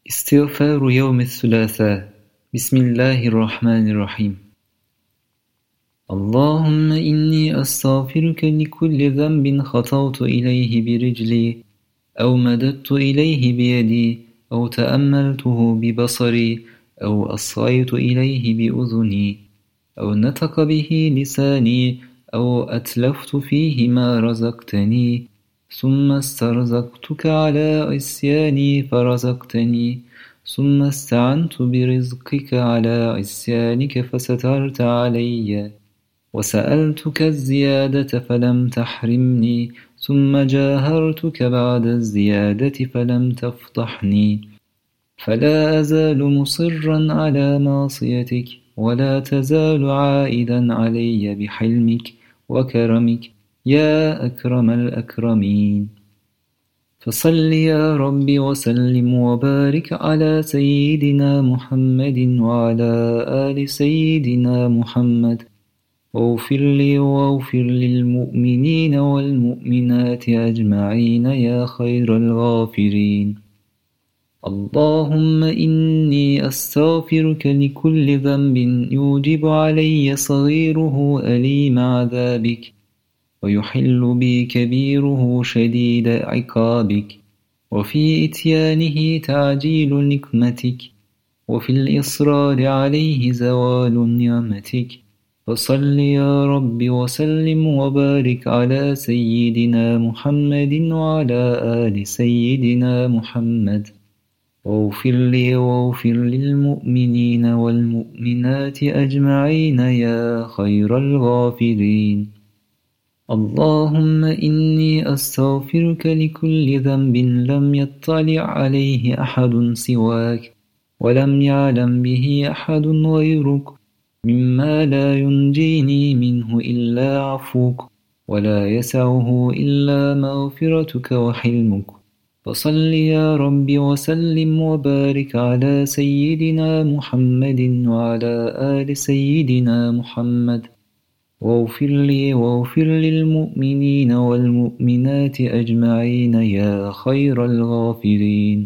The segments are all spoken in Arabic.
استغفار يوم الثلاثاء. بسم الله الرحمن الرحيم. اللهم إني أستغفرك لكل ذنب خطوت إليه برجلي أو مددت إليه بيدي أو تأملته ببصري أو أصغيت إليه بأذني أو نطق به لساني أو أتلفت فيه ما رزقتني ثم استرزقتك على عصياني فرزقتني ثم استعنت برزقك على عصيانك فسترت علي وسألتك الزيادة فلم تحرمني ثم جاهرتك بعد الزيادة فلم تفضحني فلا أزال مصرا على معصيتك ولا تزال عائدا علي بحلمك وكرمك يا أكرم الأكرمين. فصل يا رب وسلم وبارك على سيدنا محمد وعلى آل سيدنا محمد واغفر لي واغفر للمؤمنين والمؤمنات أجمعين يا خير الغافرين. اللهم إني أستغفرك لكل ذنب يوجب علي صغيره أليم عذابك ويحل بي كبيره شديد عقابك وفي إتيانه تعجيل نقمتك وفي الإصرار عليه زوال نعمتك. فصل يا رب وسلم وبارك على سيدنا محمد وعلى آل سيدنا محمد واغفر لي واغفر للمؤمنين والمؤمنات أجمعين يا خير الغافرين. اللهم إني أستغفرك لكل ذنب لم يطلع عليه أحد سواك ولم يعلم به أحد غيرك مما لا ينجيني منه إلا عفوك ولا يسعه إلا مغفرتك وحلمك. فصل يا رب وسلم وبارك على سيدنا محمد وعلى آل سيدنا محمد واغفر لي واغفر للمؤمنين والمؤمنات أجمعين يا خير الغافرين.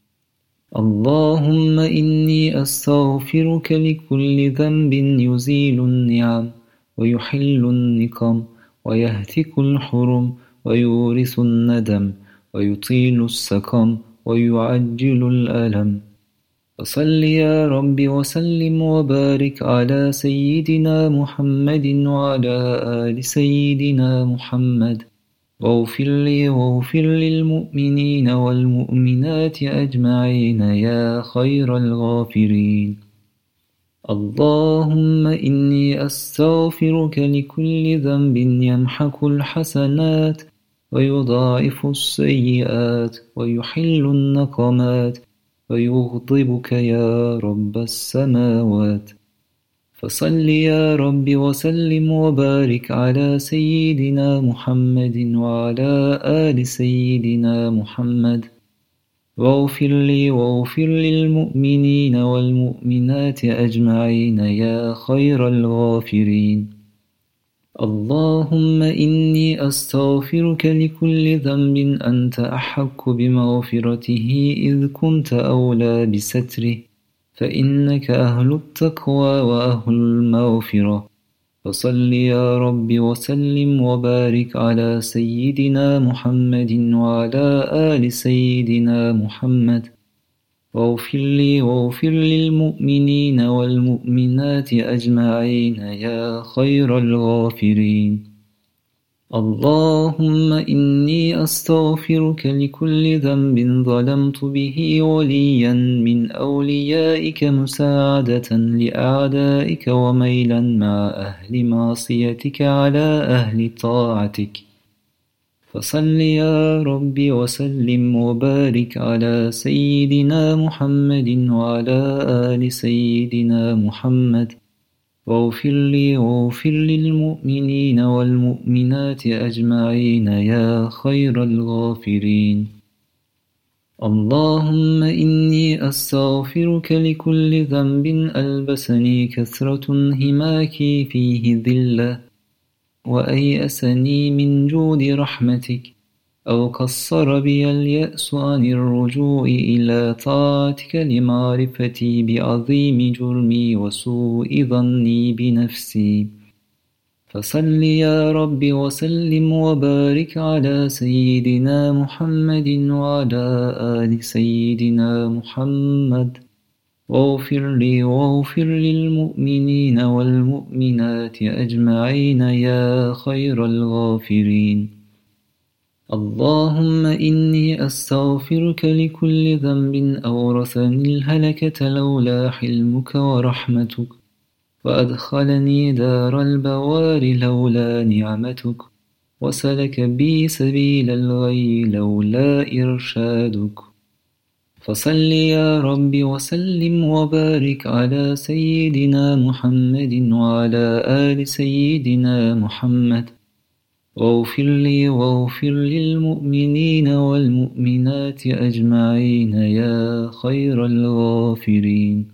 اللهم إني أستغفرك لكل ذنب يزيل النعم ويحل النقم ويهتك الحرم ويورث الندم ويطيل السقم ويعجل الألم. فصل يا رب وسلم وبارك على سيدنا محمد وعلى آل سيدنا محمد واغفر لي واغفر للمؤمنين والمؤمنات أجمعين يا خير الغافرين. اللهم إني أستغفرك لكل ذنب يمحق الحسنات ويضاعف السيئات ويحل النقمات ويغضبك يا رب السماوات. فصل يا رب وسلم وبارك على سيدنا محمد وعلى آل سيدنا محمد واغفر لي واغفر للمؤمنين والمؤمنات أجمعين يا خير الغافرين. اللهم إني أستغفرك لكل ذنب أنت أحق بمغفرته إذ كنت أولى بستره فإنك أهل التقوى وأهل المغفرة. فصل يا رب وسلم وبارك على سيدنا محمد وعلى آل سيدنا محمد واغفر لي واغفر للمؤمنين والمؤمنات أجمعين يا خير الغافرين. اللهم إني أستغفرك لكل ذنب ظلمت به وليا من أوليائك مساعدة لأعدائك وميلا مع أهل معصيتك على أهل طاعتك. فصل يا رب وسلم وبارك على سيدنا محمد وعلى آل سيدنا محمد واغفر لي واغفر للمؤمنين والمؤمنات أجمعين يا خير الغافرين. اللهم إني أستغفرك لكل ذنب ألبسني كثرة انهماكي فيه ذلة وأيأسني من جود رحمتك أو قصر بي اليأس عن الرجوع إلى طاعتك لمعرفتي بعظيم جرمي وسوء ظني بنفسي. فصل يا رب وسلم وبارك على سيدنا محمد وعلى آل سيدنا محمد، واغفر لي واغفر للمؤمنين والمؤمنات أجمعين يا خير الغافرين. اللهم إني أستغفرك لكل ذنب أورثني الهلكة لولا حلمك ورحمتك، وأدخلني دار البوار لولا نعمتك، وسلك بي سبيل الغي لولا إرشادك. فصل يا رب وسلم وبارك على سيدنا محمد وعلى آل سيدنا محمد، واغفر لي واغفر للمؤمنين والمؤمنات أجمعين يا خير الغافرين.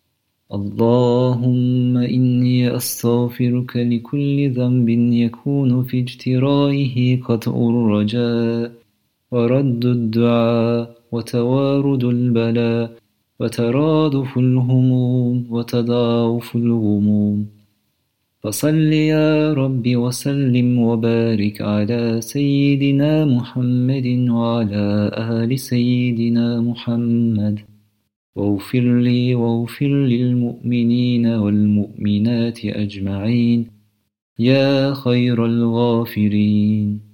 اللهم إني أستغفرك لكل ذنب يكون في اجترائه قطع الرجاء ورد الدعاء وتوارد البلاء وترادف الهموم وتضاعف الغموم. فصل يا رب وسلم وبارك على سيدنا محمد وعلى آل سيدنا محمد، واغفر لي واغفر للمؤمنين والمؤمنات أجمعين يا خير الغافرين.